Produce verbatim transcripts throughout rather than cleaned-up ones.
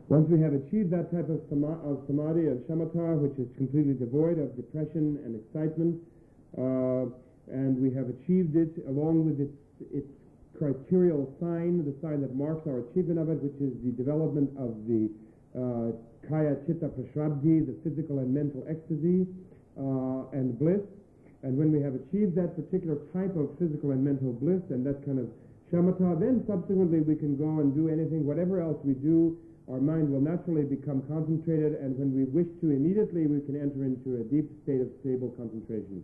Once we have achieved that type of, sama of samadhi, of shamatha, which is completely devoid of depression and excitement, uh, and we have achieved it along with its, its criterial sign, the sign that marks our achievement of it, which is the development of the uh, kaya chitta prashrabdhi, the physical and mental ecstasy uh, and bliss. And when we have achieved that particular type of physical and mental bliss and that kind of shamatha, then subsequently we can go and do anything, whatever else we do, our mind will naturally become concentrated, and when we wish to immediately, we can enter into a deep state of stable concentration.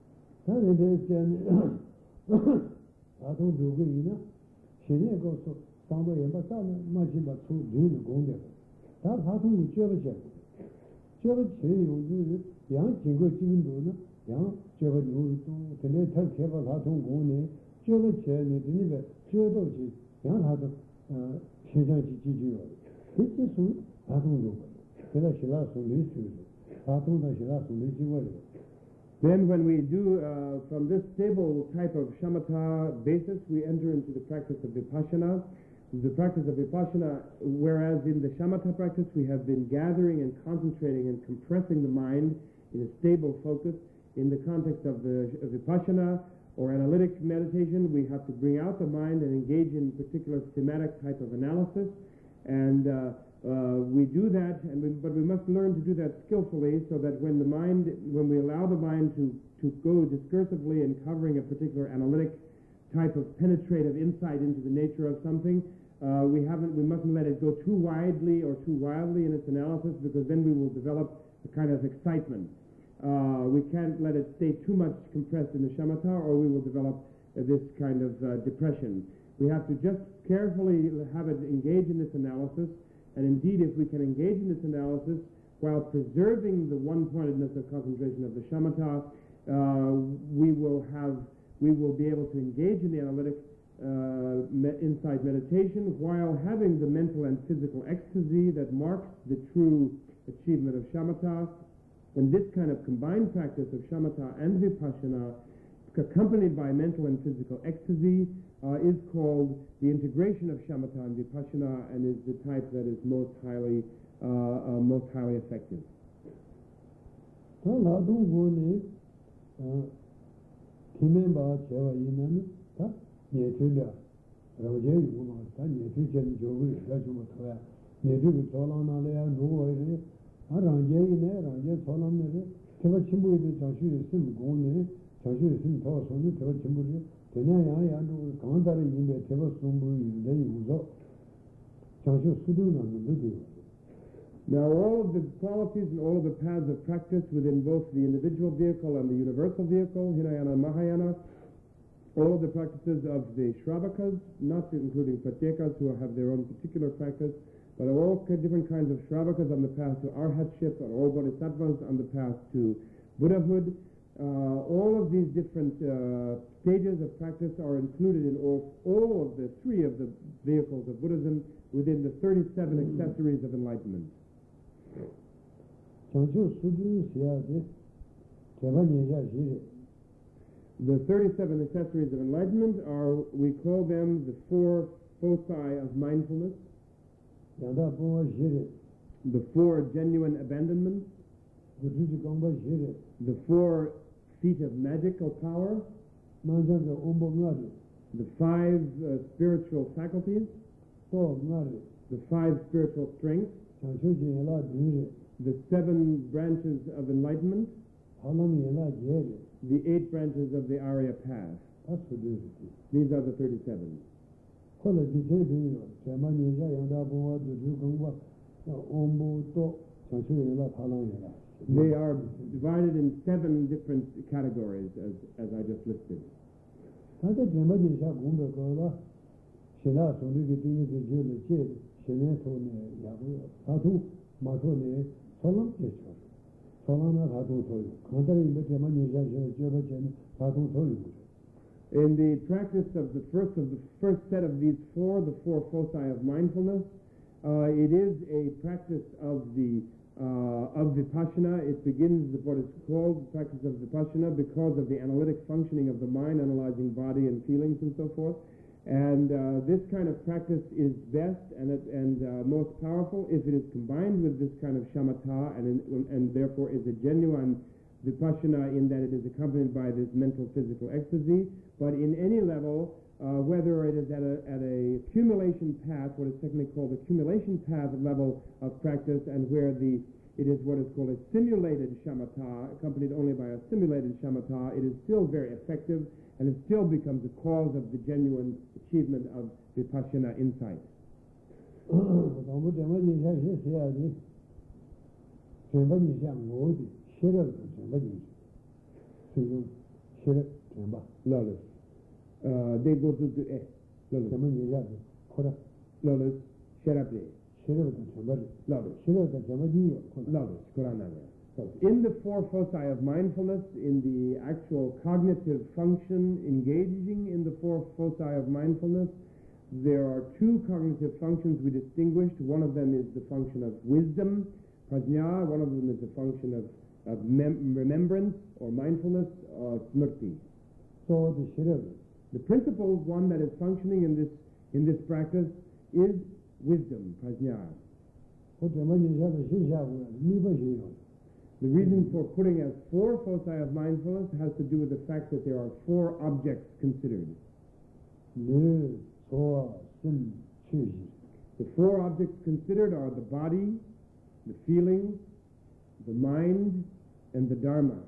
Then when we do, uh, from this stable type of shamatha basis, we enter into the practice of vipassana. The practice of vipassana, whereas in the shamatha practice we have been gathering and concentrating and compressing the mind in a stable focus, in the context of the of vipassana or analytic meditation, we have to bring out the mind and engage in particular thematic type of analysis. And uh, uh, we do that, and we, but we must learn to do that skillfully, so that when the mind, when we allow the mind to, to go discursively in covering a particular analytic type of penetrative insight into the nature of something, uh, we haven't, we mustn't let it go too widely or too wildly in its analysis, because then we will develop a kind of excitement. Uh, we can't let it stay too much compressed in the shamatha, or we will develop uh, this kind of uh, depression. We have to just carefully have it engage in this analysis, and indeed if we can engage in this analysis while preserving the one-pointedness of concentration of the shamatha, uh, we will have, we will be able to engage in the analytic uh, me insight meditation while having the mental and physical ecstasy that marks the true achievement of shamatha. And this kind of combined practice of shamatha and vipassana, accompanied by mental and physical ecstasy, uh, is called the integration of shamatha and vipassana, and is the type that is most highly, uh, uh, most highly effective. Now all of the qualities and all of the paths of practice within both the individual vehicle and the universal vehicle, Hinayana and Mahayana, all of the practices of the Shravakas, not including Pratyekas who have their own particular practice, but all different kinds of Shravakas on the path to arhatship, and all bodhisattvas on the path to Buddhahood. Uh, all of these different uh, stages of practice are included in all, all of the three of the vehicles of Buddhism within the thirty-seven mm. accessories of enlightenment. The thirty-seven accessories of enlightenment are, we call them the four foci of mindfulness, the four genuine abandonments, the four feet of magical power, the five uh, spiritual faculties, the five spiritual strengths, the seven branches of enlightenment, the eight branches of the Arya path. These are the thirty-seven. They are divided in seven different categories, as, as I just listed. In the practice of the first of the first set of these four, the four foci of mindfulness, uh, it is a practice of the uh, of vipassana. It begins with what is called the practice of vipassana because of the analytic functioning of the mind, analyzing body and feelings and so forth. And uh, this kind of practice is best and, it, and uh, most powerful if it is combined with this kind of shamatha and, and therefore is a genuine vipassana in that it is accompanied by this mental physical ecstasy. But in any level, uh, whether it is at a, at a accumulation path, what is technically called the accumulation path level of practice, and where the it is what is called a simulated shamatha, accompanied only by a simulated shamatha, it is still very effective, and it still becomes a cause of the genuine achievement of vipassana insight. Lotus. Uh, they go to the eh. Lotus. Lotus. Sherabde. Lotus. Lotus. Qurana. In the four foci of mindfulness, in the actual cognitive function engaging in the four foci of mindfulness, there are two cognitive functions we distinguished. One of them is the function of wisdom, prajna. One of them is the function of, of mem remembrance or mindfulness, or smrti. So the the principal one that is functioning in this in this practice is wisdom, prajna. The reason for putting as four foci of mindfulness has to do with the fact that there are four objects considered. The four objects considered are the body, the feelings, the mind, and the dharma.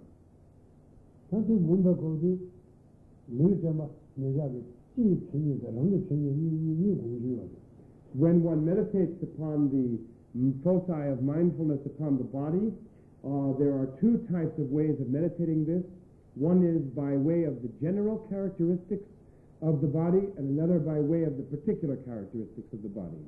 When one meditates upon the foci of mindfulness upon the body, uh, there are two types of ways of meditating this. One is by way of the general characteristics of the body, and another by way of the particular characteristics of the body.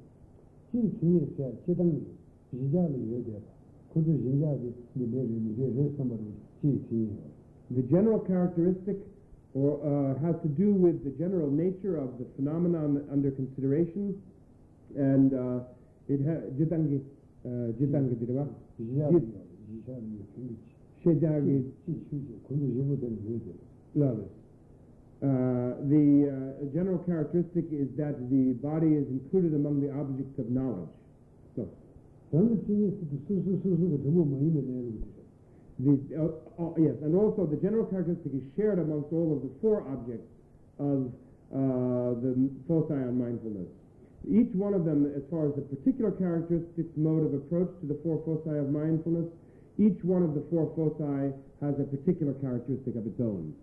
The general characteristic or, uh, has to do with the general nature of the phenomenon under consideration, and uh, it has jitangi jitangi dirwa shejagi love. Uh, the uh, general characteristic is that the body is included among the objects of knowledge. So, the, uh, uh, yes, and also the general characteristic is shared amongst all of the four objects of uh, the foci on mindfulness. Each one of them, as far as the particular characteristics mode of approach to the four foci of mindfulness, each one of the four foci has a particular characteristic of its own.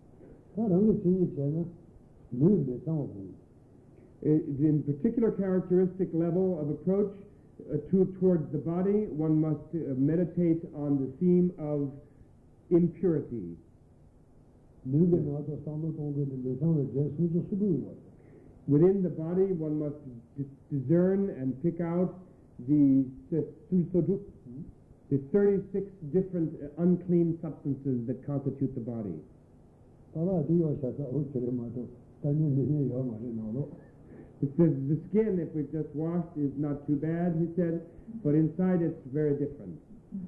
In particular characteristic level of approach uh, to, towards the body, one must uh, meditate on the theme of impurity. Within the body, one must discern and pick out the, the thirty-six different uh, unclean substances that constitute the body. It says the skin, if we've just washed, is not too bad, he said, but inside it's very different.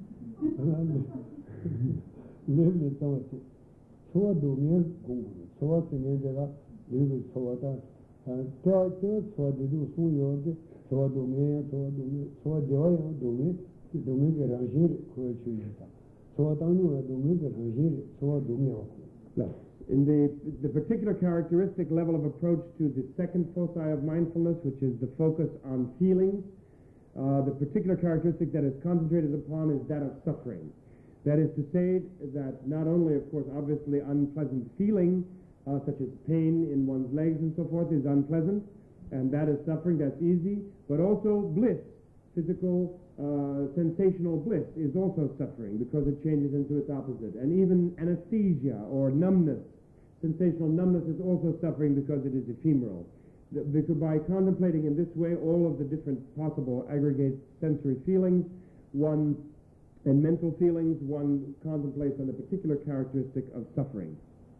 In the, the particular characteristic level of approach to the second foci of mindfulness, which is the focus on feelings, uh, the particular characteristic that is concentrated upon is that of suffering. That is to say that not only, of course, obviously unpleasant feeling, uh, such as pain in one's legs and so forth, is unpleasant, and that is suffering, that's easy, but also bliss, physical, uh, sensational bliss is also suffering because it changes into its opposite. And even anesthesia or numbness, sensational numbness, is also suffering because it is ephemeral. The, because by contemplating in this way all of the different possible aggregate sensory feelings, one and mental feelings, one contemplates on a particular characteristic of suffering.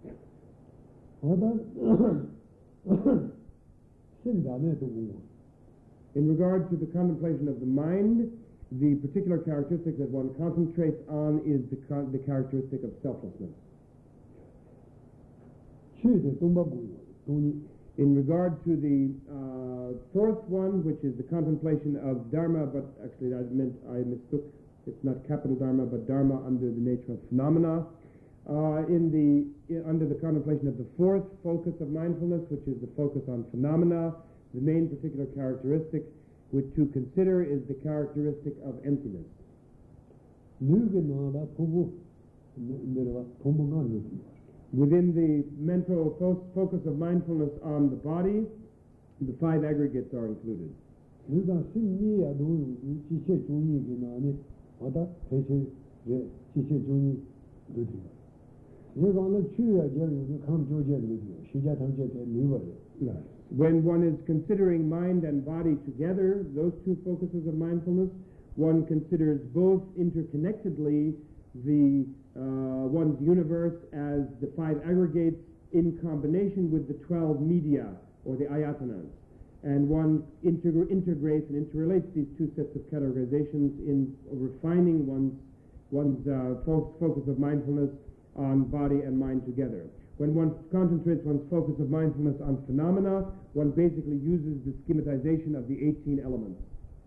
In regard to the contemplation of the mind, the particular characteristic that one concentrates on is the, the characteristic of selflessness. In regard to the uh, fourth one, which is the contemplation of Dharma, but actually I meant I mistook. It's not capital Dharma, but Dharma under the nature of phenomena. Uh, in the in, under the contemplation of the fourth focus of mindfulness, which is the focus on phenomena, the main particular characteristic which to consider is the characteristic of emptiness. Within the mental fo focus of mindfulness on the body, the five aggregates are included. When one is considering mind and body together, those two focuses of mindfulness, one considers both interconnectedly the uh, one's universe as the five aggregates in combination with the twelve media or the ayatanas, and one integ integrates and interrelates these two sets of categorizations in refining one's one's uh, fo focus of mindfulness on body and mind together. When one concentrates one's focus of mindfulness on phenomena, one basically uses the schematization of the eighteen elements.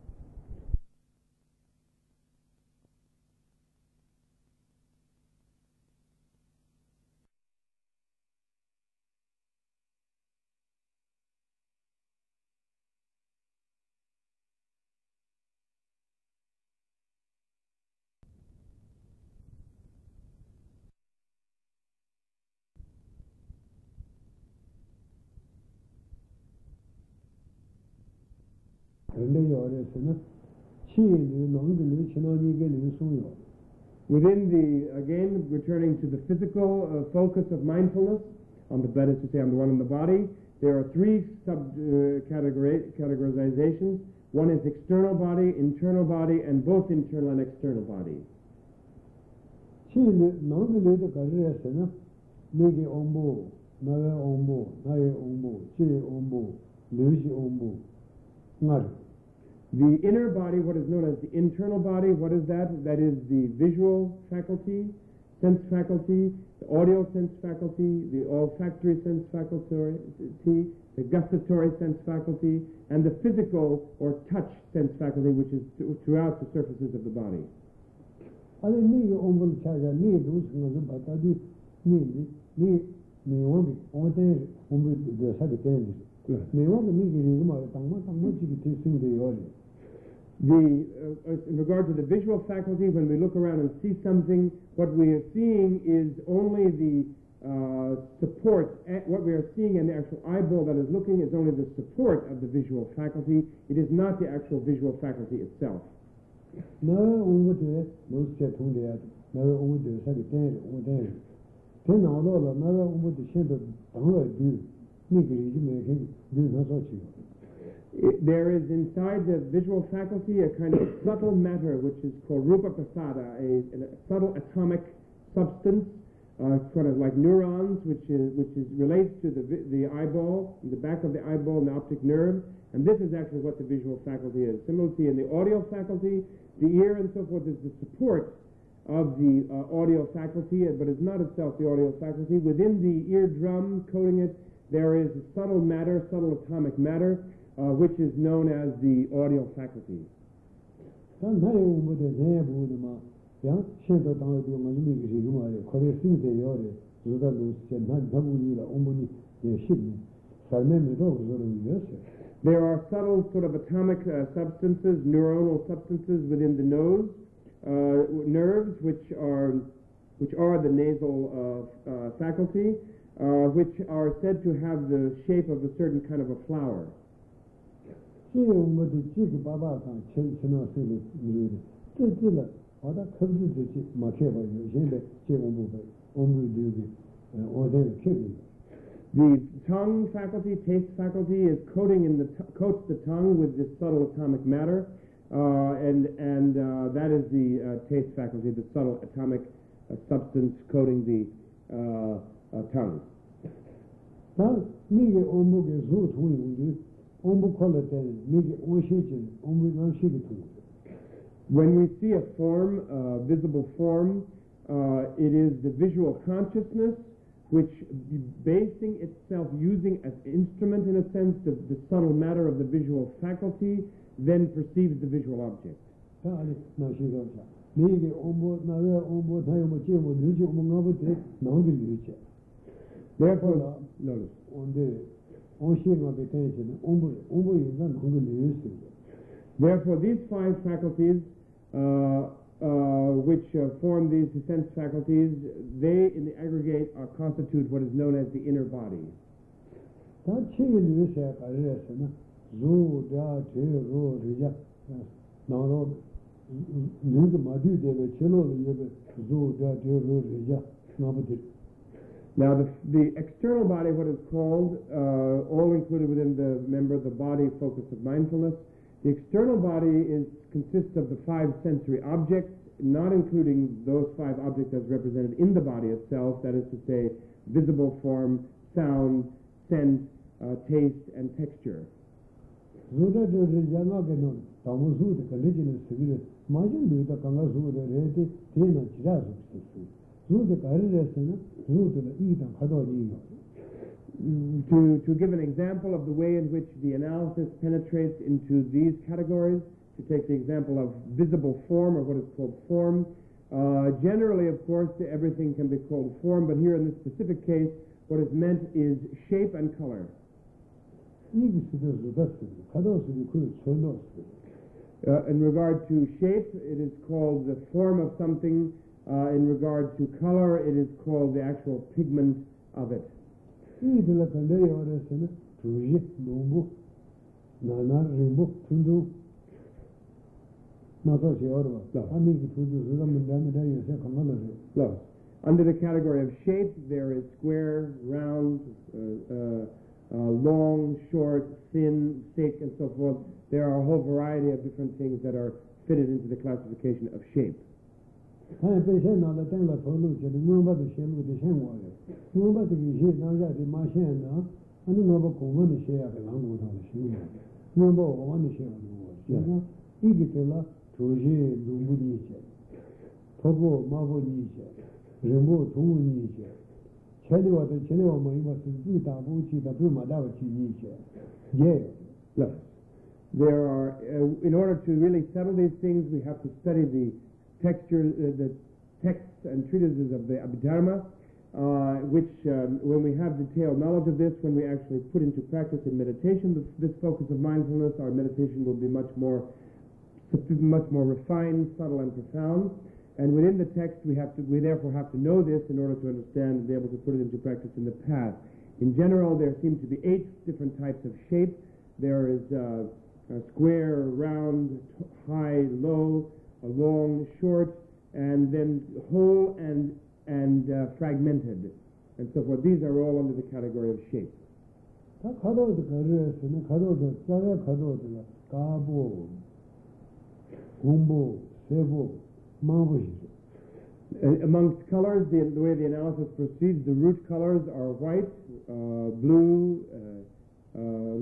Within the, again, returning to the physical uh, focus of mindfulness, on the, that is to say, on the one in the body, there are three sub uh, categori categorizations. One is external body, internal body, and both internal and external body. The inner body, what is known as the internal body, what is that? That is the visual faculty, sense faculty, the audio sense faculty, the olfactory sense faculty, the gustatory sense faculty, and the physical or touch sense faculty, which is throughout the surfaces of the body. The, uh, in regard to the visual faculty, when we look around and see something, what we are seeing is only the uh, support. What we are seeing in the actual eyeball that is looking is only the support of the visual faculty. It is not the actual visual faculty itself. It, there is inside the visual faculty a kind of subtle matter which is called rupa prasada, a, a subtle atomic substance, uh, sort of like neurons, which is which is relates to the the eyeball, the back of the eyeball, and the optic nerve, and this is actually what the visual faculty is. Similarly, in the audio faculty, the ear and so forth is the support of the uh, audio faculty, but is not itself the audio faculty. Within the eardrum, coating it, there is a subtle matter, subtle atomic matter, Uh, which is known as the audio faculty. There are subtle sort of atomic uh, substances, neuronal substances within the nose, uh, nerves, which are which are the nasal uh, uh, faculty, uh, which are said to have the shape of a certain kind of a flower. The tongue faculty, taste faculty, is coating in the t coats the tongue with this subtle atomic matter, uh, and and uh, that is the uh, taste faculty, the subtle atomic uh, substance coating the uh, uh, tongue. When we see a form, a uh, visible form, uh, it is the visual consciousness which, basing itself, using as instrument in a sense the, the subtle matter of the visual faculty, then perceives the visual object. Therefore, notice. Therefore, these five faculties, uh, uh, which uh, form these sense faculties, they in the aggregate are constitute what is known as the inner body. Now, the, the external body, what is called, uh, all included within the member, the body focus of mindfulness. The external body is, consists of the five sensory objects, not including those five objects as represented in the body itself, that is to say, visible form, sound, scent, uh, taste, and texture. To, to give an example of the way in which the analysis penetrates into these categories, to take the example of visible form, or what is called form, uh, generally, of course, everything can be called form, but here in this specific case, what is meant is shape and color. Uh, in regard to shape, it is called the form of something. Uh, in regard to color, it is called the actual pigment of it. No. No. Under the category of shape, there is square, round, uh, uh, uh, long, short, thin, thick, and so forth. There are a whole variety of different things that are fitted into the classification of shape. Look, there are, uh, in order to really settle these things, we have to study the texture, uh, the texts and treatises of the Abhidharma, uh, which, um, when we have detailed knowledge of this, when we actually put into practice in meditation, this, this focus of mindfulness, our meditation will be much more, much more refined, subtle, and profound. And within the text, we have to, we therefore have to know this in order to understand and be able to put it into practice in the past. In general, there seem to be eight different types of shape. There is uh, a square, round, high, low, a long, short, and then whole and and uh, fragmented, and so forth. These are all under the category of shape. Uh, amongst colors, the, the way the analysis proceeds, the root colors are white, uh, blue, uh,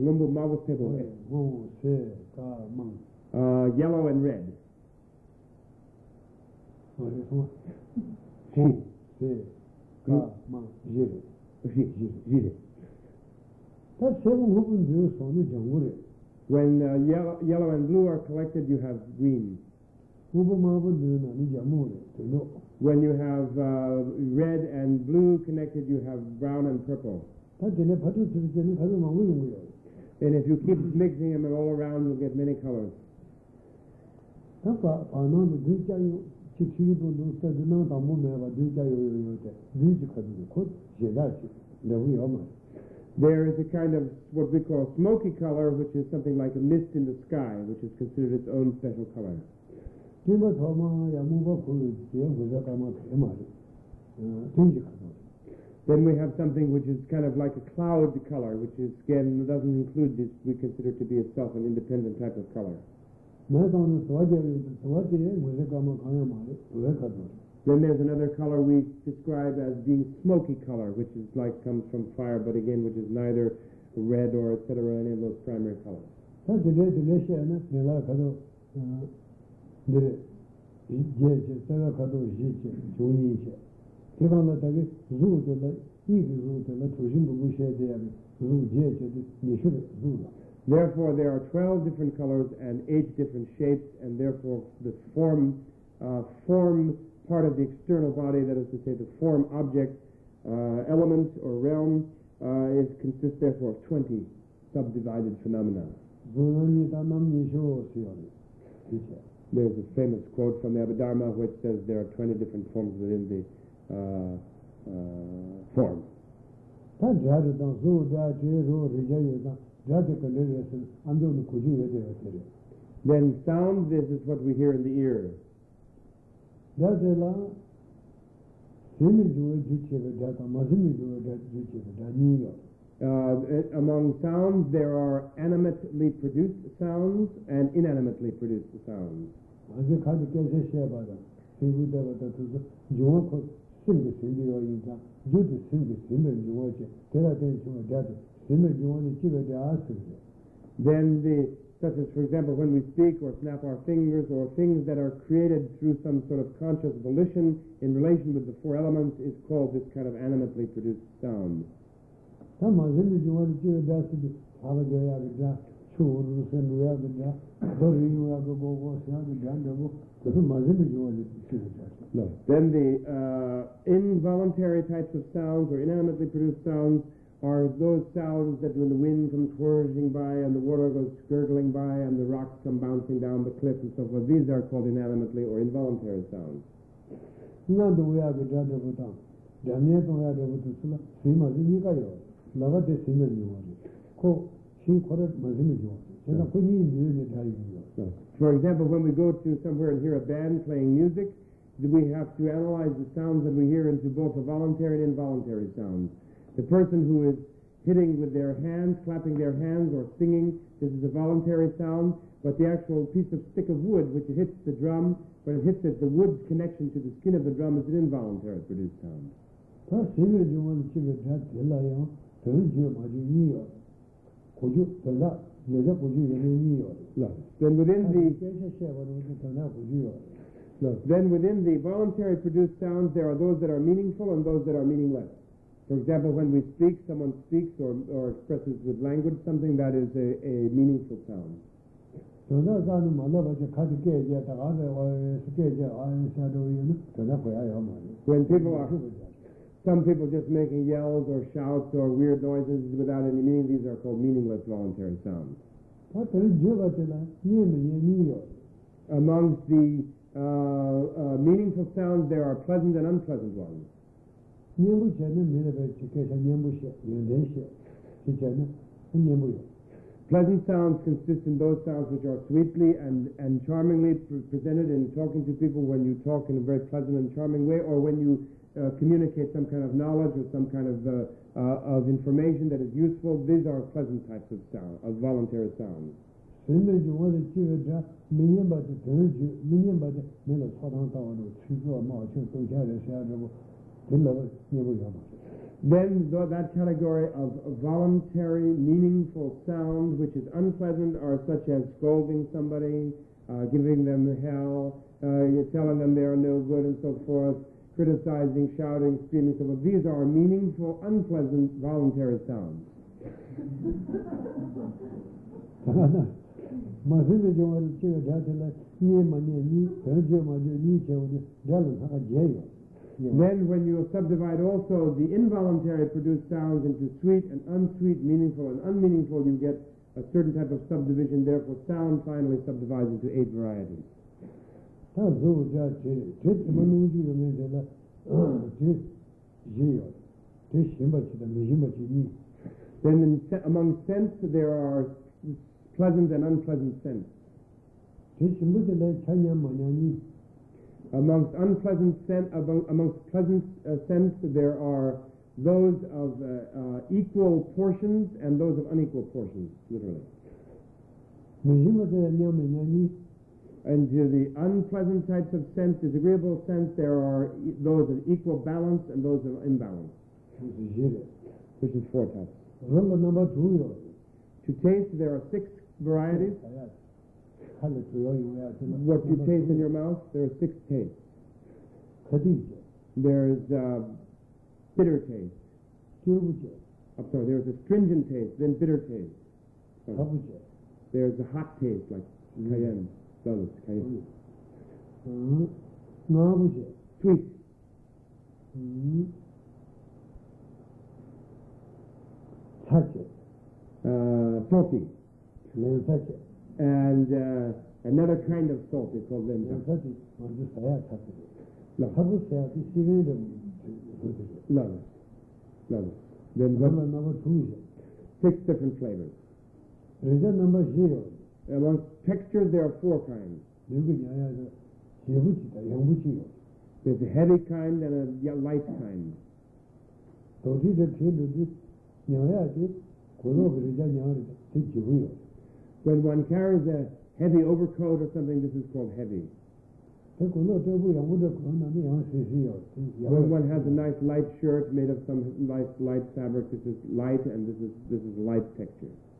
uh, uh, yellow, and red. When uh, yellow, yellow and blue are collected, you have green. When you have uh, red and blue connected, you have brown and purple. And if you keep mixing them all around, you'll get many colors. There is a kind of what we call smoky color, which is something like a mist in the sky, which is considered its own special color. Then we have something which is kind of like a cloud color, which is, again, doesn't include this, we consider to be itself an independent type of color. Then there's another color we describe as being smoky color, which is like comes from fire, but again, which is neither red or et cetera, any of those primary colors. Therefore, there are twelve different colors and eight different shapes, and therefore the form, uh, form part of the external body, that is to say the form object uh, element or realm, uh, is consists therefore of twenty subdivided phenomena. There's a famous quote from the Abhidharma which says there are twenty different forms within the uh, uh, form. Then sound, this is what we hear in the ear. Uh, among sounds, there are animately produced sounds and inanimately produced sounds. Then the, such as, for example, when we speak or snap our fingers, or things that are created through some sort of conscious volition in relation with the four elements, is called this kind of animately produced sound. No. Then the uh, involuntary types of sounds, or inanimately produced sounds, are those sounds that when the wind comes whirling by and the water goes gurgling by and the rocks come bouncing down the cliff and so forth. These are called inanimately or involuntary sounds. For example, when we go to somewhere and hear a band playing music, we have to analyze the sounds that we hear into both the voluntary and involuntary sounds. The person who is hitting with their hands, clapping their hands, or singing, this is a voluntary sound, but the actual piece of stick of wood which hits the drum, when it hits it, the wood's connection to the skin of the drum is an involuntary produced sound. No. Then within the no. Then within the voluntary produced sounds, there are those that are meaningful and those that are meaningless. For example, when we speak, someone speaks or, or expresses with language something that is a, a meaningful sound. When people are, some people just making yells or shouts or weird noises without any meaning, these are called meaningless voluntary sounds. Amongst the uh, uh, meaningful sounds, there are pleasant and unpleasant ones. Pleasant sounds consist in those sounds which are sweetly and, and charmingly pre presented in talking to people, when you talk in a very pleasant and charming way, or when you uh, communicate some kind of knowledge or some kind of, uh, uh, of information that is useful. These are pleasant types of sound, of voluntary sounds. Then that category of voluntary, meaningful sound which is unpleasant are such as scolding somebody, uh, giving them hell, uh, you're telling them they are no good and so forth, criticizing, shouting, screaming, so forth. These are meaningful, unpleasant, voluntary sounds. Then when you subdivide also the involuntary produced sounds into sweet and unsweet, meaningful and unmeaningful, you get a certain type of subdivision. Therefore, sound finally subdivides into eight varieties. Then in, among scents, there are pleasant and unpleasant scents. Amongst unpleasant scent, among, amongst pleasant uh, scents, there are those of uh, uh, equal portions and those of unequal portions, literally. And to the unpleasant types of scents, disagreeable scents, there are e those of equal balance and those of imbalance, which is four types. To taste, there are six varieties. What you taste in your mouth, there are six tastes. There is uh, bitter taste, 쫄부제, I'm sorry, there's a stringent taste, then bitter taste. So 가부제, there's a hot taste, like cayenne, cloves, cayenne. 음, 나부제, Sweet, 음, 사제, uh, salty, 렌사제, and uh, another kind of salt is called lensa. 렌사제 먼저 사야 사제. No, 가부세야 시베르 그거죠. no, no. Then what? 넘버 넘버 투죠. Six different flavors. 그래서 넘버 zero. Among textures, there are four kinds. 누구 야야서 제부지다 영부지요. There's a heavy kind and a y- light kind. 도시들 제도지 녀야지 고로 그러자 녀를 되지고요. When one carries a heavy overcoat or something, this is called heavy. 그 고로 저부 영부도 그러나면 영수시요. When one has a nice light shirt made of some nice light fabric, this is light, and this is this is light texture.